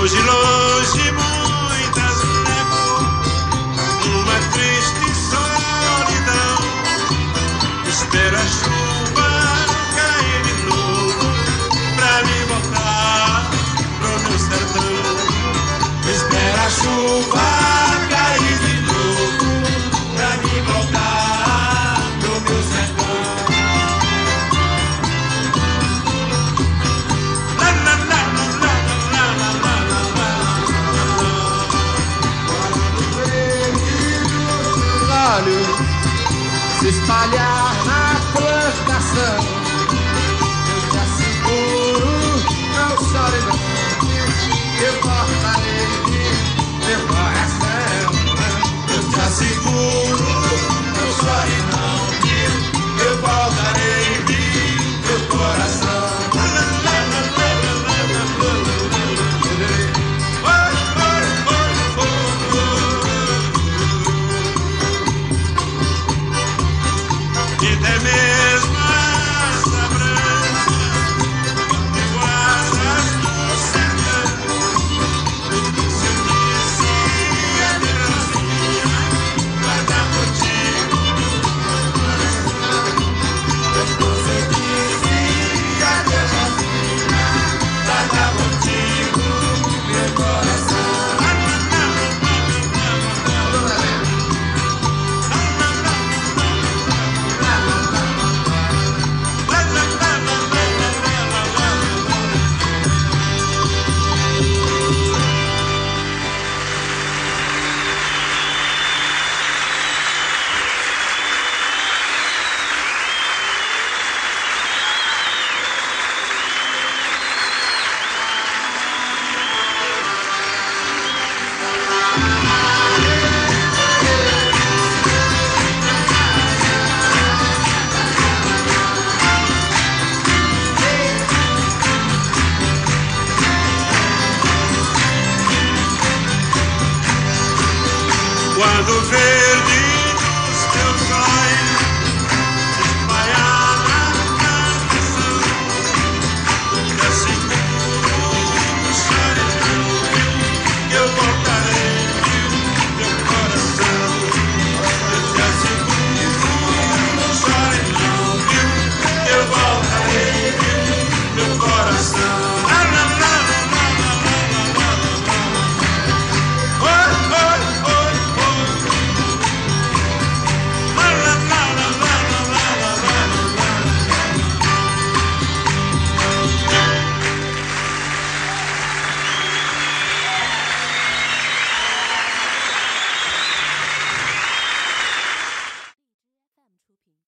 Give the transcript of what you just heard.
Longe, longe, muitas levo numa triste solidão. Espero a chuva cair de novo pra me voltar pro meu sertão. Espero a chuva cair de novo pra me voltar pro meu sertão. Se espalhar na plantação, eu te asseguro, não chore não, eu cortarei meu coração. Eu te asseguro, não chore não, eu voltarei meu coração. E até mesmo essa branca eu asas no sertão. Se eu disse adeusinha, guarda contigo meu coração. Depois eu disse adeusinha, guarda contigo meu coração. Quando verde